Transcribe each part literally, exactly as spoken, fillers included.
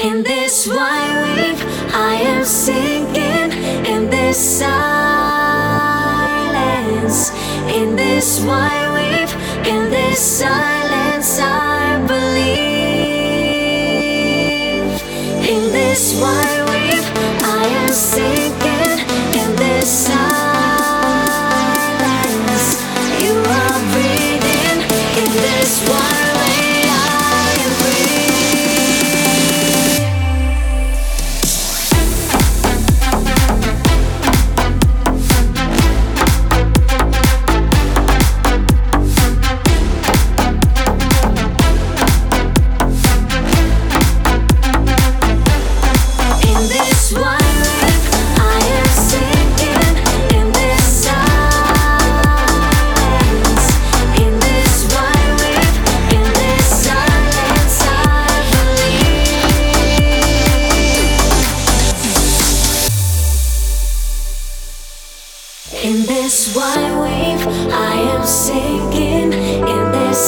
In this wide wave, I am sinking. In this silence, in this wide wave, in this silence, I believe. In this wide wave, I am sinking. In this silence, you are breathing. In this wide wave, I am free. In this wide wave, I am sinking. In this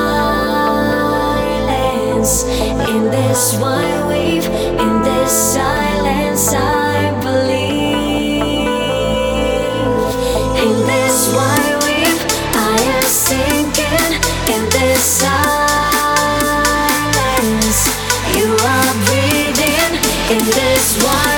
silence, in this wide wave, in this silence, I believe. In this wide wave, I am sinking. In this silence, you are breathing. In this wide